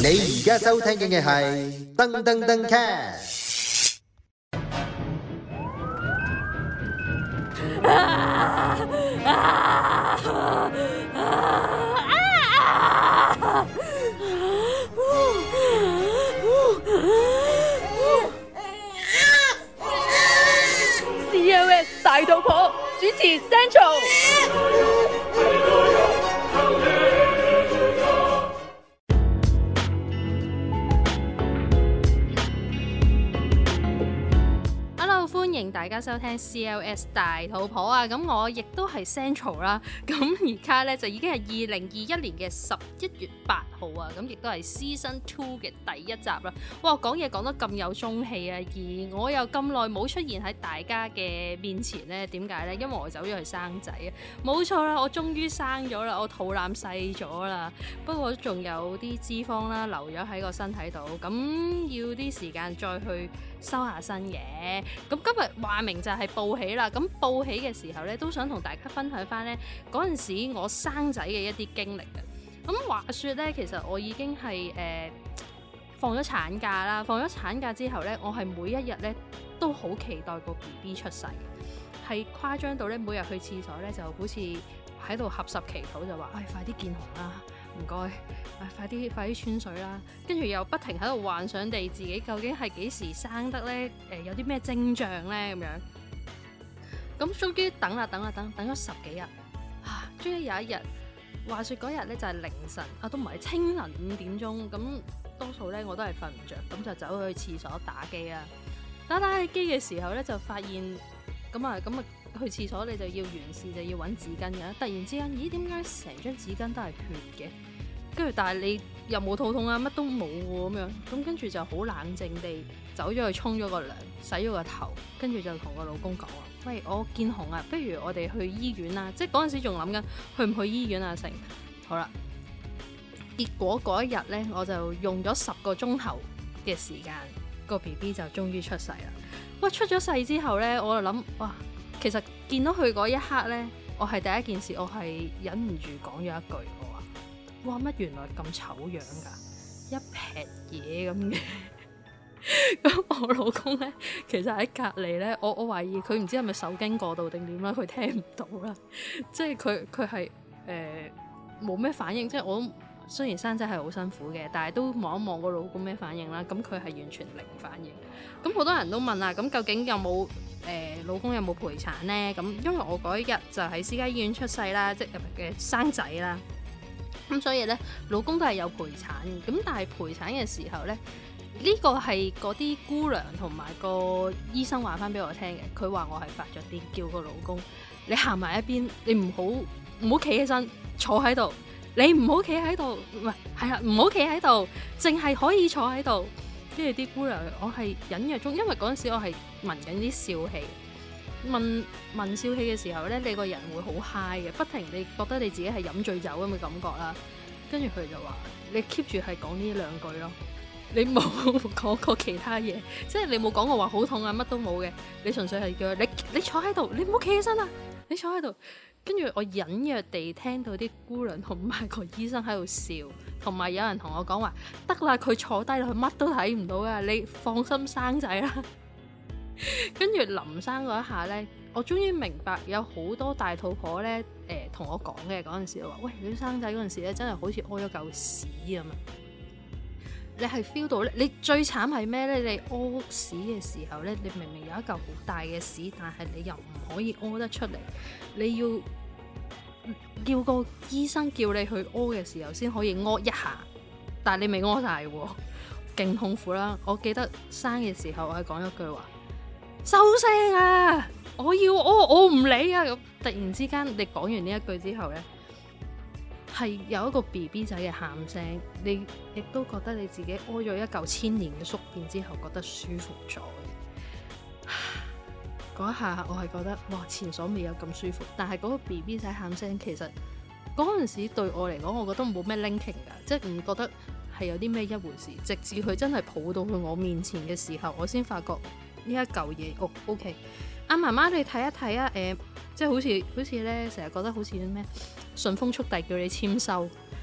你而家收聽嘅係噔噔噔 cast。 COS 大肚婆主持 Central。歡迎大家收聽 CLS 大肚婆啊！咁我亦都係 Central 啦。咁而家咧就已經係2021年嘅11月8號啊！咁亦都係 Season 2嘅第一集啦。哇！講嘢講得咁有中氣啊！而我又咁耐冇出現喺大家嘅面前咧，點解咧？因為我走咗去生仔啊！冇錯啦，我終於生咗啦，我肚腩細咗啦。不過仲有啲脂肪啦留咗喺個身體度，咁要啲時間再去收下身嘅。咁今日話明就係報喜啦，咁報喜嘅時候咧，都想同大家分享翻咧嗰陣時我生仔嘅一啲經歷嘅。咁話說咧，其實我已經係放咗產假啦，放咗產假之後咧，我係每一日咧都好期待個 BB 出世，係誇張到咧每日去廁所咧就好似喺度合十祈禱，就話快啲見紅啦，唔該，快啲穿水啦，跟住又不停喺度幻想地自己究竟係幾時生得咧？有啲咩徵象咧？咁樣，咁終於等咗10幾日，終於有一日，話說嗰日咧就係凌晨都唔係清晨5點鐘，咁多數咧我都係瞓唔着，咁就走去廁所打機啦。打機嘅時候咧就發現咁去廁所你就要完事，就要揾紙巾嘅。突然之間，咦？點解成張紙巾都係血嘅？跟住，但係你又冇肚痛啊，乜都冇喎咁樣。咁跟住就好冷靜地走咗去沖咗個涼，洗咗個頭，跟住就同個老公講話：喂，我見紅啊，不如我哋去醫院啦。即係嗰陣時仲諗緊去唔去醫院啊？成好啦。結果嗰一日呢，我就用咗10個鐘頭嘅時間，個 BB 就終於出世啦。哇！出咗世之後呢，我就諗哇〜其實見到佢嗰一刻呢，我係第一件事，我係忍唔住講咗一句，我話：哇，乜原來咁醜樣㗎，一撇嘢咁嘅。咁我老公呢，其實喺隔離呢，我懷疑佢唔知係咪受驚過度定點啦，佢聽唔到啦。即係佢係冇咩反應，即係我雖然生仔係好辛苦嘅，但係都望一望個老公咩反應啦。咁佢係完全零反應。咁好多人都問啦，咁究竟有冇老公有冇陪產呢？咁因為我嗰一日就喺私家醫院出世啦，即係生仔啦。咁所以呢，老公都係有陪產嘅。咁但係陪產嘅時候呢，呢個係嗰啲姑娘同埋個醫生話翻俾我聽嘅。佢話我係發咗癲，叫個老公你行埋一邊，你唔好企起身，坐喺度。你唔好企喺度，唔好企喺度，淨係可以坐喺度。跟住啲姑娘，我係隱約中，因為嗰陣時我係聞緊啲笑氣，聞笑氣嘅時候咧，你個人會好 high 嘅，不停你覺得你自己係飲醉酒咁嘅感覺啦。跟住佢就話：你 keep 住係講呢2句咯，你冇講過其他嘢，即係你冇講過話好痛啊，乜都冇嘅，你純粹係叫你坐喺度，你唔好企起身啊，你坐喺度。跟住我隱約地聽到啲姑娘同埋個醫生喺度笑，同埋有人同我講話：得啦，佢坐低啦，佢乜都睇唔到啊，你放心生仔啦。跟住臨生嗰一下呢，我終於明白有好多大肚婆呢同我講嘅嗰陣時話：喂，你生仔嗰陣時咧，真係好似屙咗嚿屎咁啊！你係 feel 到咧，你最慘係咩呢？你屙屎嘅時候呢，你明明有一嚿好大嘅屎，但係你又唔可以屙得出嚟，你要叫個醫生叫你去屙嘅時候先可以屙一下，但係你未屙晒喎，勁痛苦啦！我記得生嘅時候，我係講一句話：收聲啊！我要屙，我唔理啊！咁突然之間，你講完呢一句之後呢，係有一個 BB 仔嘅喊聲，你亦都覺得你自己屙咗一嚿千年嘅宿便之後，覺得舒服咗。嗰一下我係覺得哇，前所未有咁舒服。但係嗰個 BB 仔喊聲，其實嗰陣時對我嚟講，我覺得冇咩 linking 㗎，即係唔覺得係有啲咩一回事。直至佢真係抱到去我面前嘅時候，我先發覺呢一嚿嘢OK。阿媽媽你睇一睇啊，即係好似咧成日覺得好似咩順豐速遞叫你簽收，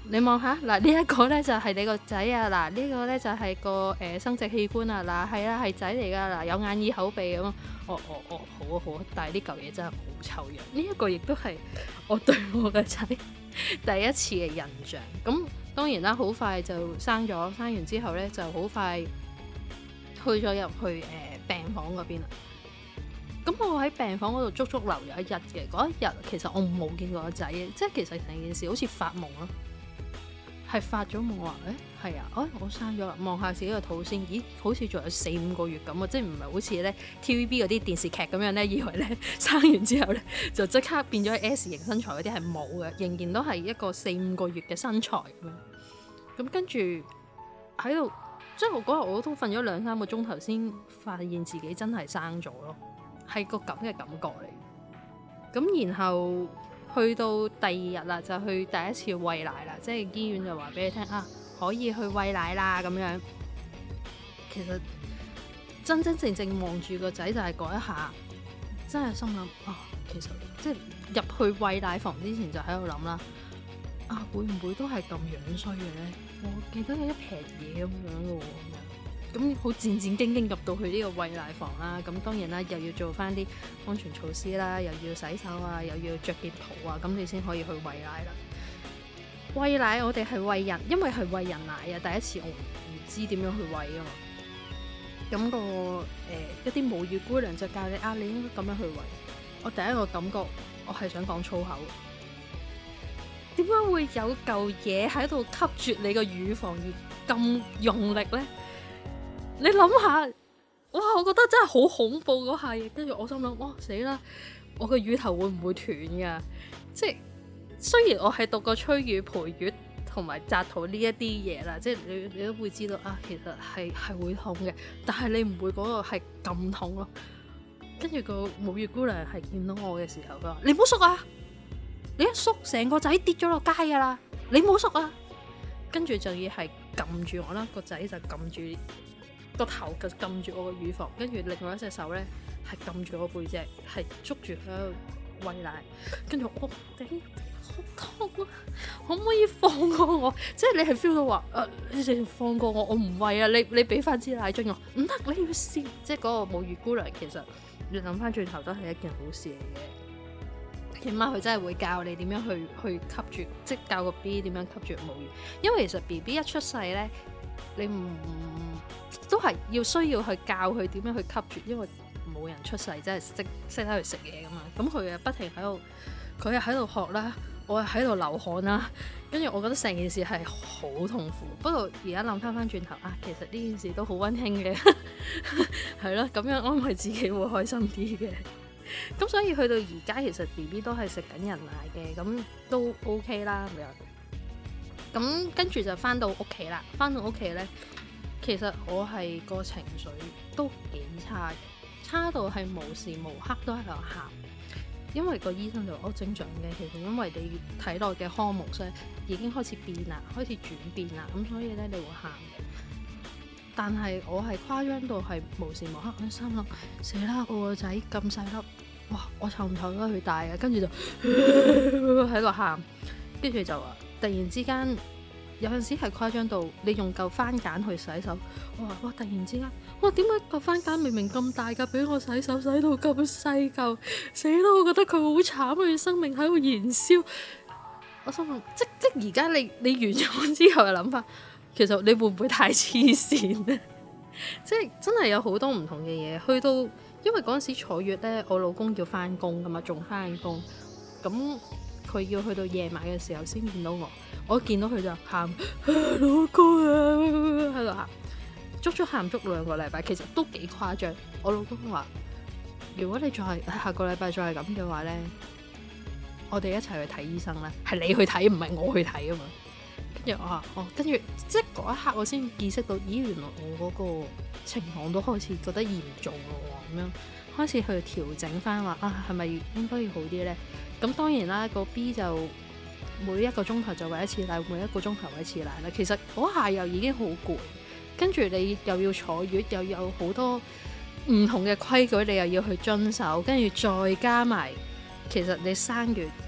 你望下嗱，呢一個咧就係你個仔啊，嗱呢個咧就係個生殖器官啊，嗱係啊係仔嚟噶，嗱有眼耳口鼻咁。好啊好啊，但係呢嚿嘢真係好臭樣。呢一個亦都係我對我個仔第一次嘅印象。咁當然啦，好快就生咗，生完之後咧就好快去咗入去病房嗰邊啦。咁我喺病房嗰度足足留咗1日嘅。嗰一日其實我冇見過個仔嘅，即係其實成件事好似發夢咯。係發咗夢話，係啊，我生咗啦，望下自己個肚先，咦，好似仲有4-5個月咁啊，即係唔係好似咧 TVB 嗰啲電視劇咁樣咧，以為咧生完之後咧就即刻變咗 S 型身材嗰啲係冇嘅，仍然都係一個4-5個月嘅身材咁樣。咁跟住喺度，即係我嗰日我都瞓咗2-3個鐘頭先發現自己真係生咗咯，係個咁嘅感覺嚟。咁然後去到第2日啦，就去第一次餵奶啦，即係醫院就話俾你聽啊，可以去餵奶啦咁樣。其實真真正正望住個仔就係嗰一下，真係心諗啊，其實即係入去餵奶房之前就喺度諗啦，啊會唔會都係咁樣衰嘅咧？我記得有一撇嘢咁樣嘅喎。咁好戰戰兢兢入到去呢個餵奶房啦，咁當然啦，又要做翻啲安全措施啦，又要洗手啊，又要着件袍啊，咁你先可以去餵奶啦。餵奶我哋係餵人，因為係餵人奶啊，第一次我唔知點樣去餵啊嘛。咁一啲母乳姑娘就教你啊，你應該咁樣去餵。我第一個感覺，我係想講粗口。點解會有嚿嘢喺度吸住你個乳房而咁用力呢？你諗下，哇！我覺得真係好恐怖嗰下嘢，跟住我心諗，哇死啦！我個乳頭會唔會斷㗎？即係雖然我係讀過催乳、陪乳同埋紮肚呢一啲嘢啦，即係你都會知道啊，其實係會痛嘅，但係你唔會嗰個係咁痛咯。跟住個母乳姑娘係見到我嘅時候，佢話：你唔好縮啊！你一縮，成個仔跌咗落街㗎啦！你唔好縮啊！跟住就要係撳住我啦，個仔就撳住。個頭就撳住我個乳房，跟住另外一隻手咧係撳住我背脊，係捉住佢喺度餵奶。跟住我頂好痛啊！可唔可以放過我？即係你係 feel 到話你直接放過我，我唔餵啊！你俾翻支奶樽我，唔得，你要試。即係嗰個母乳姑娘其實你諗翻轉頭都係一件好事嚟嘅。起碼佢真係會教你點樣去吸住，即係教個 B 點樣吸住母乳。因為其實 BB 一出世咧，你唔都係需要去教佢點樣去吸住，因為冇人出世真係識得去食嘢噶嘛。咁佢又不停喺度，佢又喺度學啦，我又喺度流汗啦。跟住我覺得成件事係好痛苦。不過而家諗翻轉頭啊，其實呢件事都好溫馨嘅，係咯，咁樣安慰自己會開心啲嘅。咁所以去到而家，其實 BB 都係食緊人奶嘅，咁都 OK 啦咁樣。咁跟住就翻到屋企啦，翻到屋企咧。其實我係個情緒都幾差嘅，差到係無時無刻都喺度喊，因為個醫生就話正常嘅，其實因為你體內嘅荷爾蒙已經開始變啦，開始轉變啦，咁所以咧你會喊嘅。但係我係誇張到係無時無刻喺心諗，死啦！我個仔咁細粒，哇！我湊唔湊得佢大啊？跟住就喺度喊，跟住就話突然之間。有陣時係誇張到你用嚿番梘去洗手，我話哇！突然之間，哇！點解嚿番梘明明咁大㗎，俾我洗手洗到咁細嚿，死啦！我覺得佢好慘，佢生命喺度燃燒。我心諗，即而家你完咗之後嘅諗法，其實你會唔會太黐線咧？即係真係有好多唔同嘅嘢，去到因為嗰陣時坐月咧，我老公要翻工㗎嘛，仲翻工，咁佢要去到夜晚嘅時候先見到我見到佢就喊，老公啊，喺度喊，足喊足2個禮拜，其實都幾誇張。我老公話：如果你再下個禮拜再係咁嘅話咧，我哋一齊去睇醫生啦。係你去睇，唔係我去睇啊嘛。跟住我話跟住即係嗰一刻我先意識到，咦，原來我嗰個情況都開始覺得嚴重咯，咁樣開始去調整翻話係咪應該要好啲咧？咁當然啦，個 B 就每1個鐘頭就餵一次奶，每1個鐘頭餵一次奶啦。其實嗰下又已經好攰，跟住你又要坐月，又有好多唔同嘅規矩，你又要去遵守，跟住再加埋，其實你生完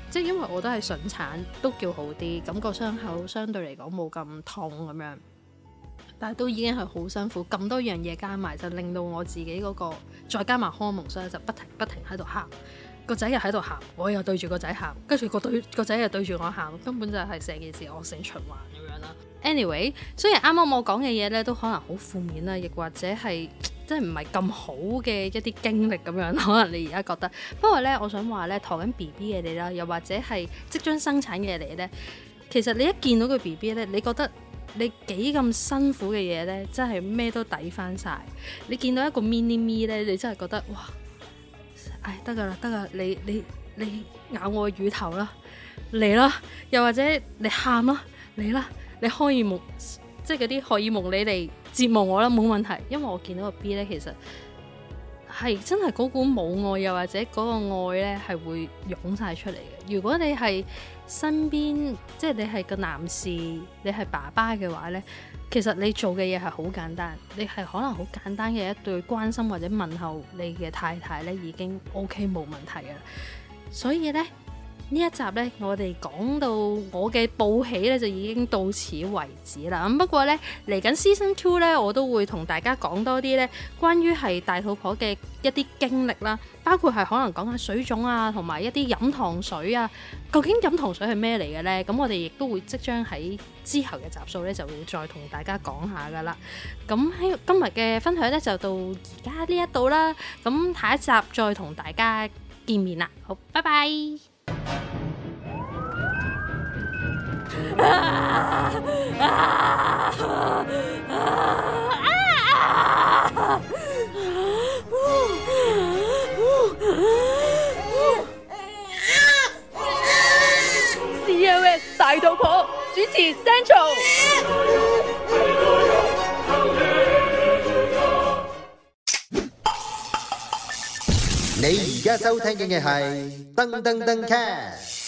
即係因為我都係順產，都叫好啲，咁個傷口相對嚟講冇咁痛咁樣，但係都已經係好辛苦，咁多樣嘢加埋就令到我自己嗰個再加埋荷蒙，所以就不停喺度喊，個仔又喺度喊，我又對住個仔喊，跟住個仔又對住我喊，根本就係成件事惡性循環咁樣啦。Anyway， 雖然啱啱我講嘅嘢咧都可能好負面啦，亦或者係即係唔係咁好嘅一啲經歷咁樣，可能你而家覺得。不過咧，我想話咧，陀緊 BB 嘅你啦，又或者係即將生產嘅你咧，其實你一見到個 BB 咧，你覺得你幾咁辛苦嘅嘢咧，真係咩都抵翻晒。你見到一個 mini me 咧，你真係覺得哇，唉得㗎啦，你咬我乳頭啦，嚟啦，又或者你喊啦，嚟啦。你荷爾蒙，即係嗰啲荷爾蒙，你嚟折磨我啦，冇問題。因為我見到個 B 咧，其實係真係嗰股母愛，又或者嗰個愛咧，係會湧晒出嚟嘅。如果你係身邊，即係你係個男士，你係爸爸嘅話咧，其實你做嘅嘢係好簡單，你係可能好簡單嘅一對關心或者問候你嘅太太咧，已經 OK 冇問題嘅啦。所以咧。呢一集呢，我哋講到我嘅報喜呢，就已經到此為止啦。咁不過呢，嚟緊 Season 2呢，我都會同大家講多啲呢關於係大肚婆嘅一啲經歷啦，包括係可能講下水腫啊，同埋一啲飲糖水啊。究竟飲糖水係咩嚟嘅呢？咁我哋亦都會即將喺之後嘅集數呢，就會再同大家講下噶啦。咁喺今日嘅分享呢，就到而家呢一度啦。咁下一集再同大家見面啦。好，拜拜。 COS 大肚婆主持 Central。 你而家收聽嘅係噔噔噔 cast。